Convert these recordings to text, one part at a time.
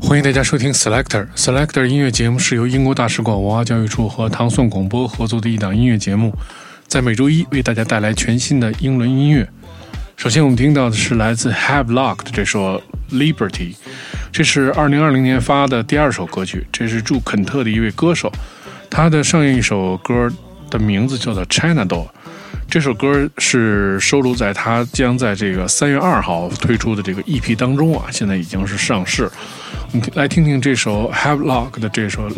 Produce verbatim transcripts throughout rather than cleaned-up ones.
欢迎大家收听 Selector Selector 音乐节目，是由英国大使馆文化教育处和唐宋广播合作的一档音乐节目，在每周一为大家带来全新的英伦音乐。首先我们听到的是来自 Havelock 的这首 Liberty， 这是二零二零年发的第二首歌曲，这是驻肯特的一位歌手，他的上一首歌的名字叫做 China Doll， 这首歌是收录在他将在这个三月二号推出的这个 E P 当中啊，现在已经是上市。我们来听听这首 Havelock 的这首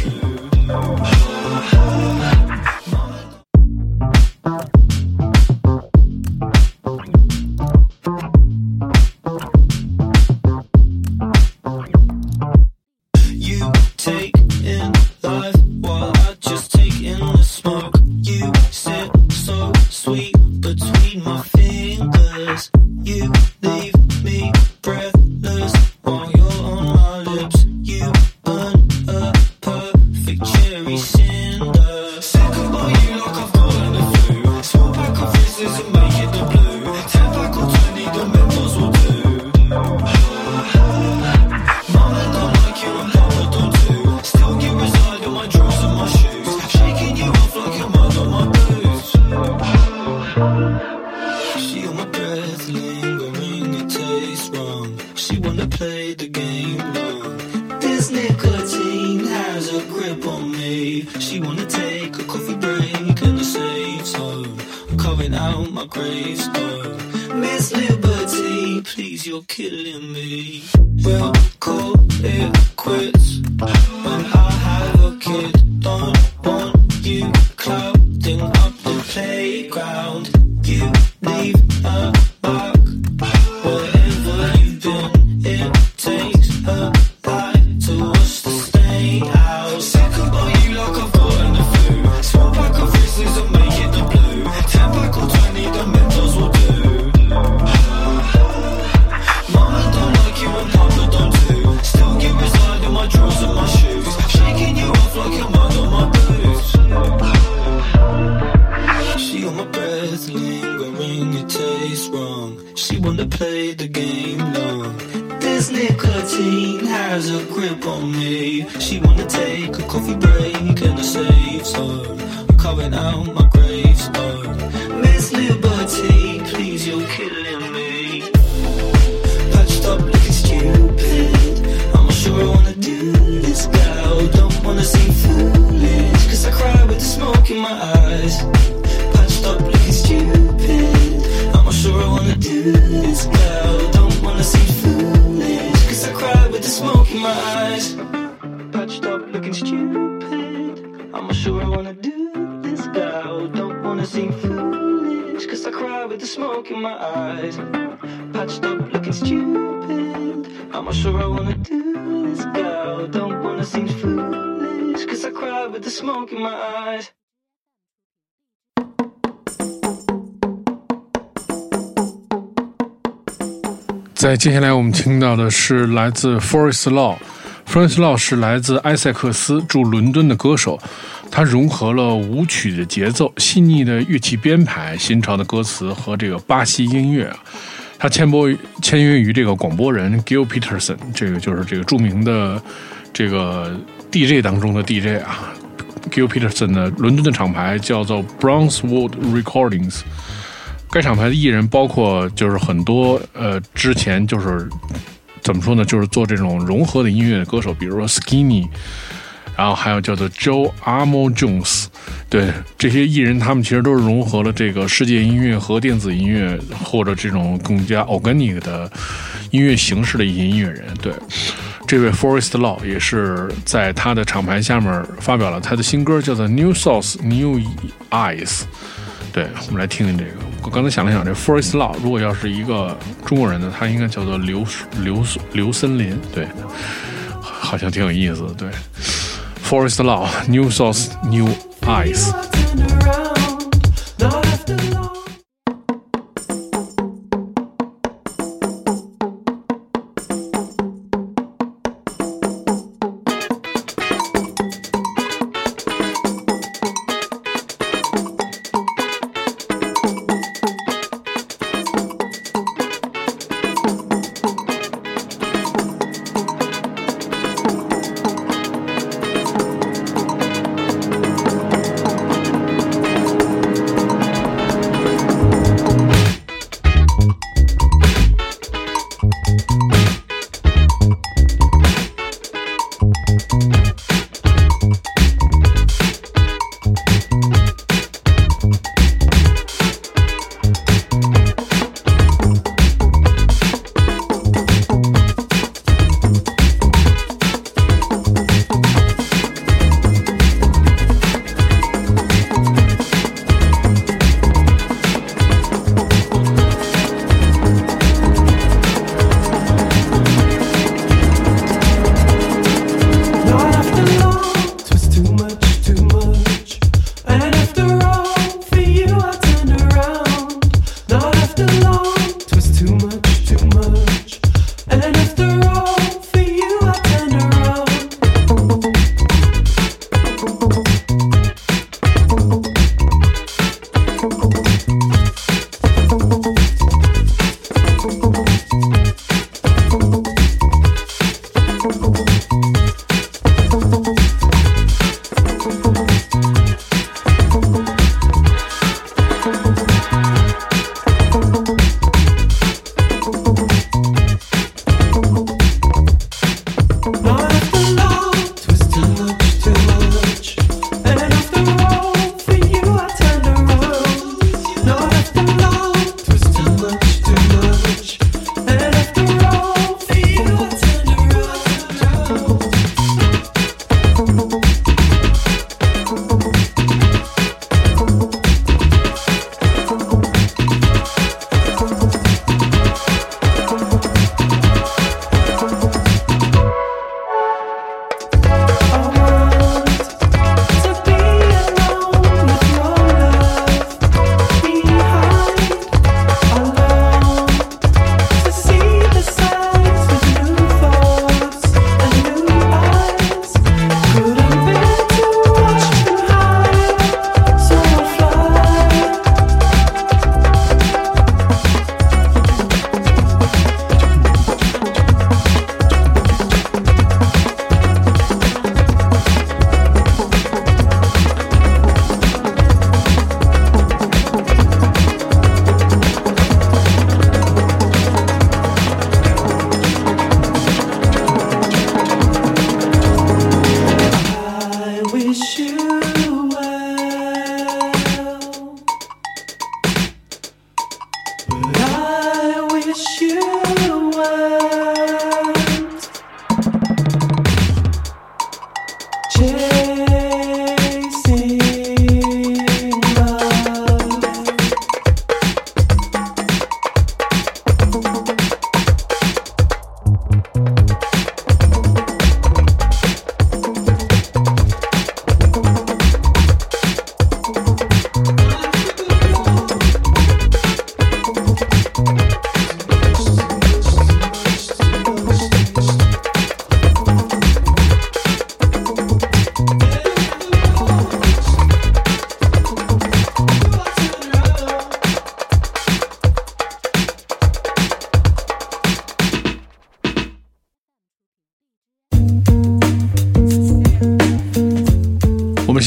Liberty。 在接下来我们听到的是来自 Forest Law。Forest Law 是来自埃塞克斯驻伦敦的歌手，他融合了舞曲的节奏、细腻的乐器编排、新潮的歌词和这个巴西音乐啊。他签播签约于这个广播人 Gil Peterson， 这个就是这个著名的这个 D J 当中的 D J 啊。Gil Peterson 的伦敦的厂牌叫做 Brownswood Recordings， 该厂牌的艺人包括就是很多呃之前就是怎么说呢，就是做这种融合的音乐的歌手，比如说 Skinny， 然后还有叫做 Joe Amo Jones， 对，这些艺人他们其实都是融合了这个世界音乐和电子音乐或者这种更加 organic 的音乐形式的一些音乐人。对，这位 Forest Law 也是在他的厂牌下面发表了他的新歌，叫做 New South New Eyes。 对，我们来听听这个。我刚才想了想，这 Forest Law 如果要是一个中国人呢，他应该叫做刘刘刘森林。对，好像挺有意思的。对， Forest Law New South New Eyes。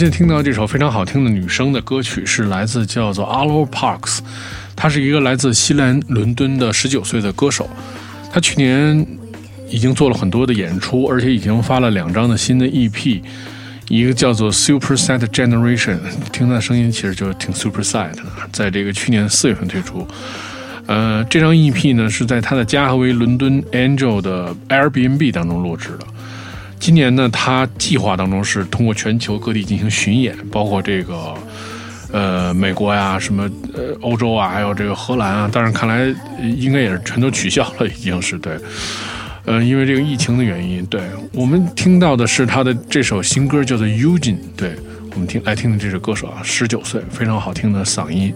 现在听到这首非常好听的女声的歌曲是来自叫做 Arlo Parks， 她是一个来自西兰伦敦的十九岁的歌手，她去年已经做了很多的演出，而且已经发了两张的新的 E P， 一个叫做 Super Sad Generation， 听她的声音其实就挺 Super Sad 的，在这个去年四月份推出。呃，这张 E P 呢是在他的加和为伦敦 Angel 的 Airbnb 当中录制的。今年呢，他计划当中是通过全球各地进行巡演，包括这个呃美国呀、什么呃欧洲啊，还有这个荷兰啊。但是看来应该也是全都取消了，已经是对。呃，因为这个疫情的原因，对我们听到的是他的这首新歌叫做 Eugene， 对我们听来听听这首歌手啊，十九岁，非常好听的嗓音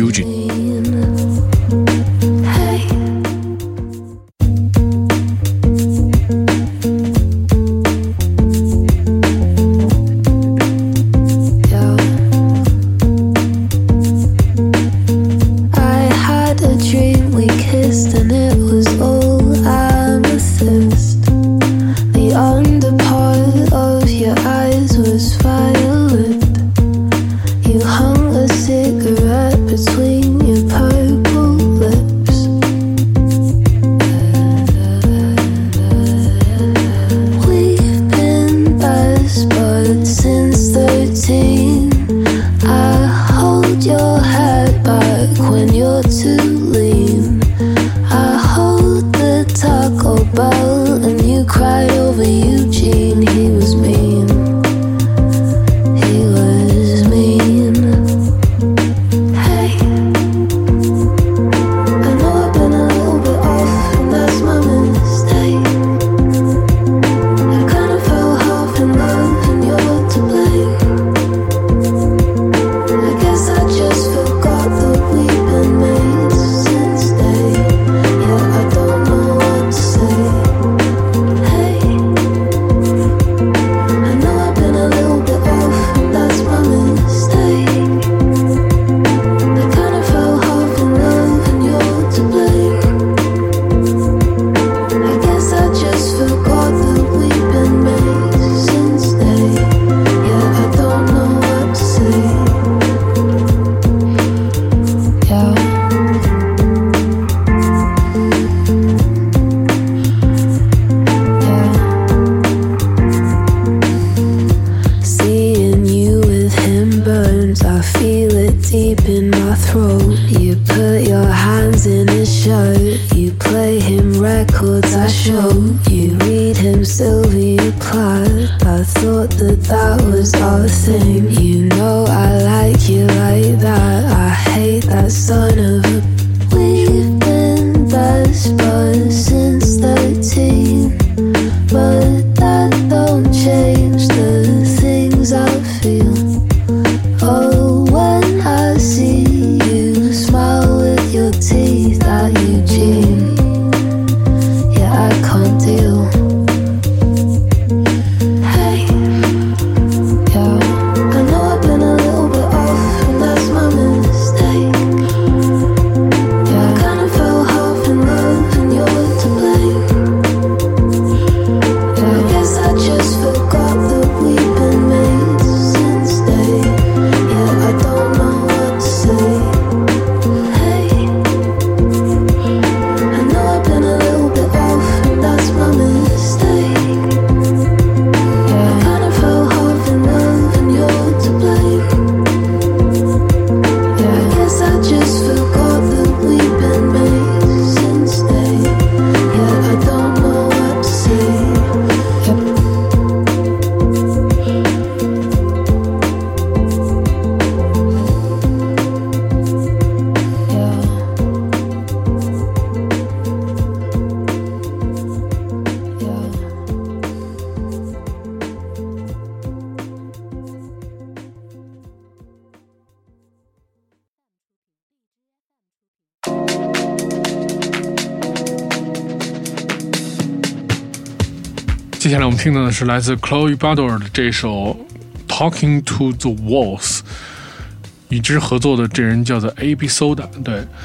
Eugene。接下来我们听到的是来自 Chloe Bador 的这首 Talking to the Walls， 与之合作的这人叫做 A B Soda。对，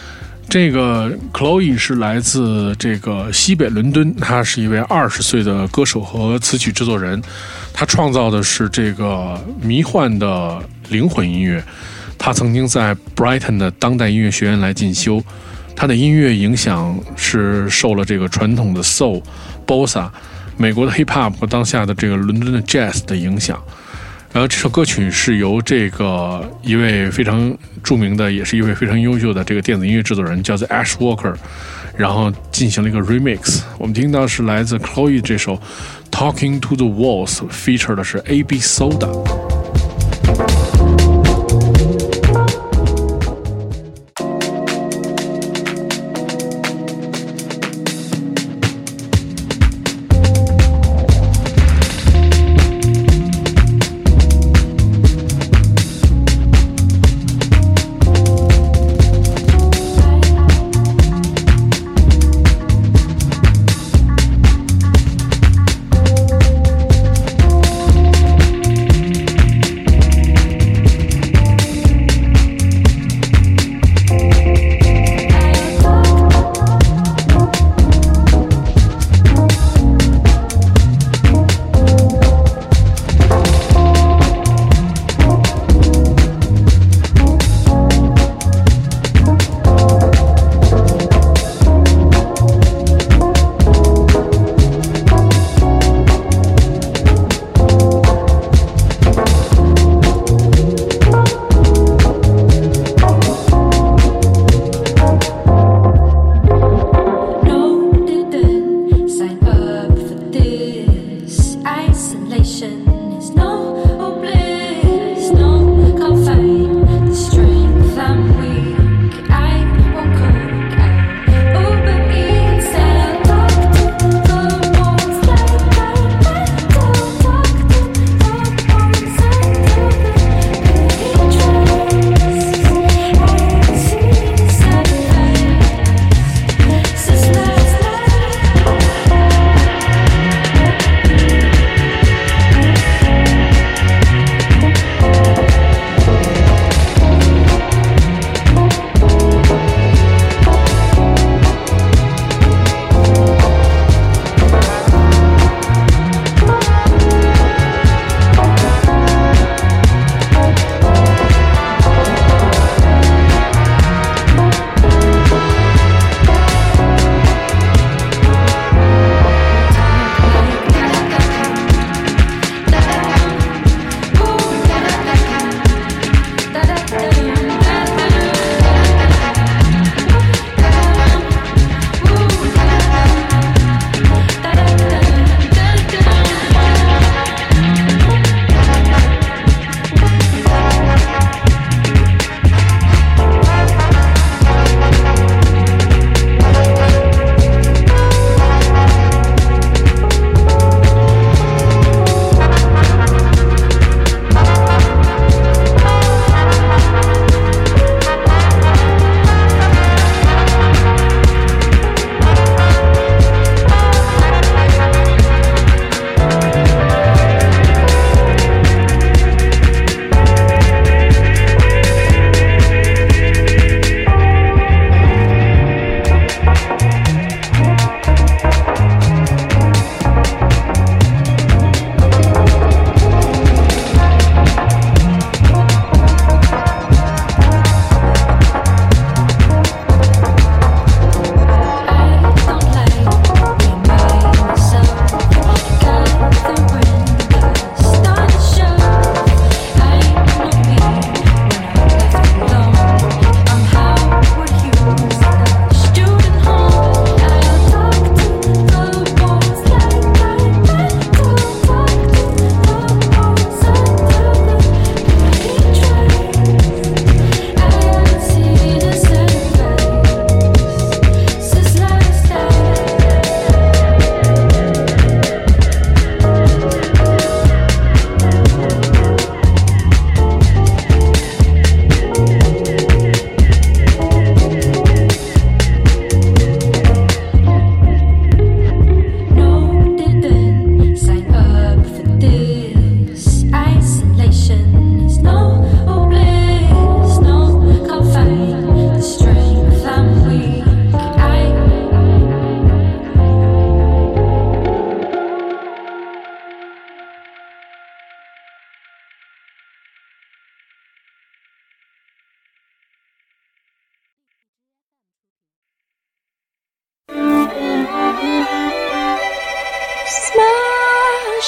这个 Chloe 是来自这个西北伦敦，她是一位二十岁的歌手和词曲制作人，她创造的是这个迷幻的灵魂音乐。她曾经在 Brighton 的当代音乐学院来进修，她的音乐影响是受了这个传统的 Soul、Bossa、美国的 Hip Hop 和当下的这个伦敦的 Jazz 的影响。然后这首歌曲是由这个一位非常著名的，也是一位非常优秀的这个电子音乐制作人，叫做 Ash Walker， 然后进行了一个 remix。我们听到是来自 Chloe 这首 Talking to the Walls， feature 的是 A B Soda。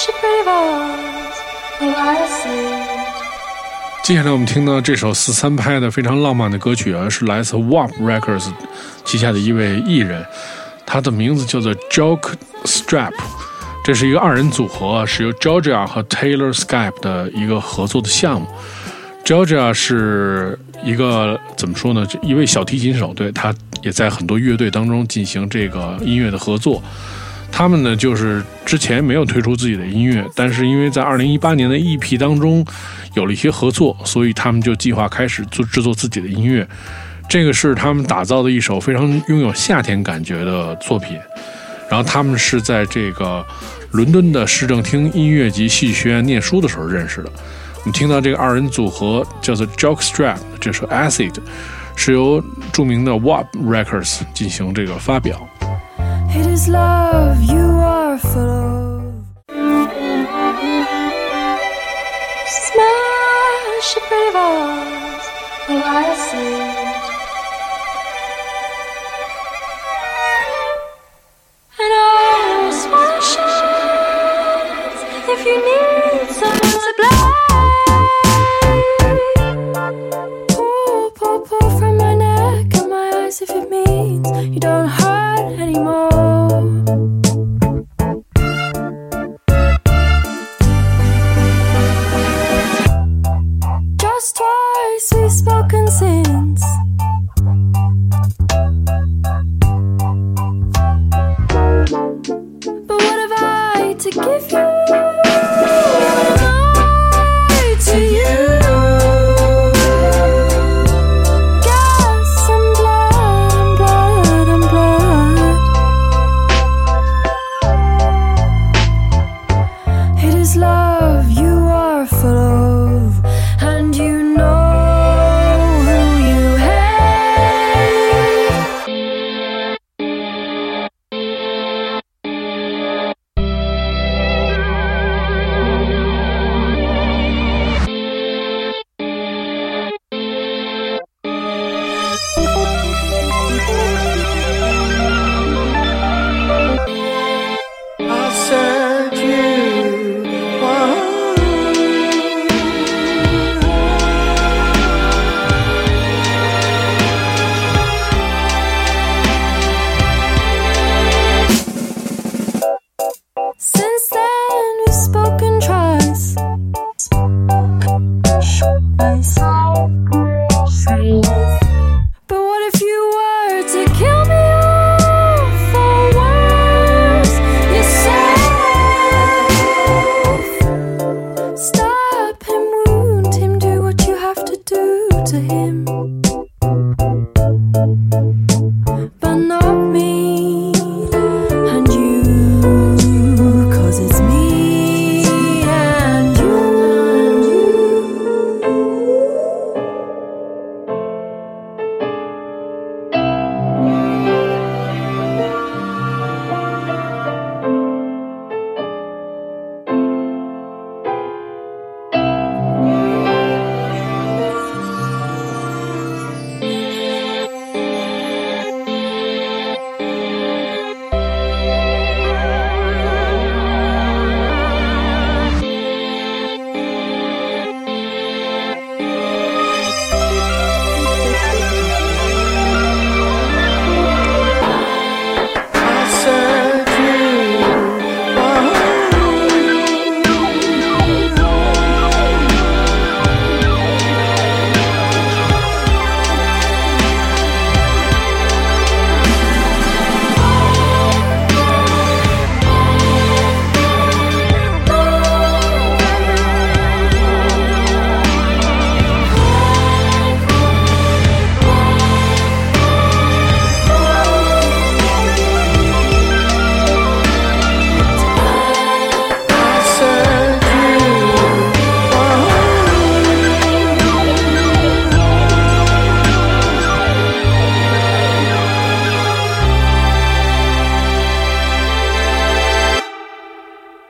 接下来我们听到这首四三拍的非常浪漫的歌曲啊，是来自 W A P Records 旗下的一位艺人，他的名字叫做 Jock Strap， 这是一个二人组合，是由 Georgia 和 Taylor Swift 的一个合作的项目。Georgia 是一个怎么说呢，一位小提琴手，对，他也在很多乐队当中进行这个音乐的合作。他们呢，就是之前没有推出自己的音乐，但是因为在二零一八年的 E P 当中有了一些合作，所以他们就计划开始做制作自己的音乐。这个是他们打造的一首非常拥有夏天感觉的作品。然后他们是在这个伦敦的市政厅音乐及戏剧学院念书的时候认识的。我们听到这个二人组合叫做 Jock Strap， 这首 Acid 是由著名的 W A P Records 进行这个发表。 It is love you are full of. Smash your pretty balls while I see. And I'll smash it if you need some supply. Pour, pour, pour from my neck and my eyes if it means you don't hurt anymore. Just twice we've spoken since. But what have I to give you? What am I to you? Gas and blood and blood and blood. It is love you are full of, and you know who you hate. I said you were. Since then we've spoken twice. But what if you were to kill me off or worse yourself? Stab him, wound him, do what you have to do to him, but not me and you, 'cause it's me and you. I said you were. I said you were.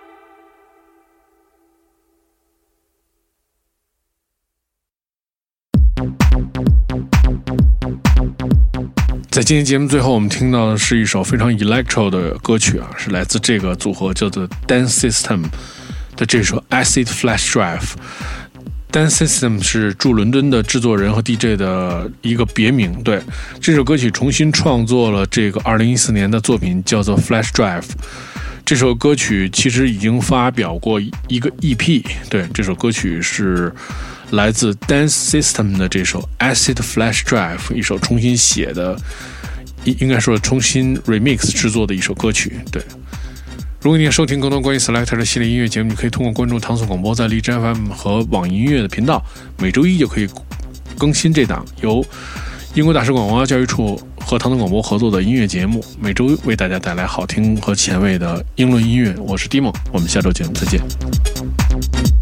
在今天节目最后，我们听到的是一首非常 electro 的歌曲啊，是来自这个组合叫做 Dance System 的这首 Acid Flash Drive。Dance System 是驻伦敦的制作人和 D J 的一个别名。对，这首歌曲重新创作了这个二零一四年的作品，叫做 Flash Drive。这首歌曲其实已经发表过一个 E P。对，这首歌曲是来自 Dance System 的这首 Acid Flash Drive， 一首重新写的，应该说重新 remix 制作的一首歌曲。对。如果你想收听更多关于 Selector 的系列音乐节目，你可以通过关注糖蒜广播在荔枝 F M 和网易音乐的频道，每周一就可以更新这档由英国大使馆文化教育处和糖蒜广播合作的音乐节目，每周为大家带来好听和前卫的英伦音乐。我是 Dimo， 我们下周节目再见。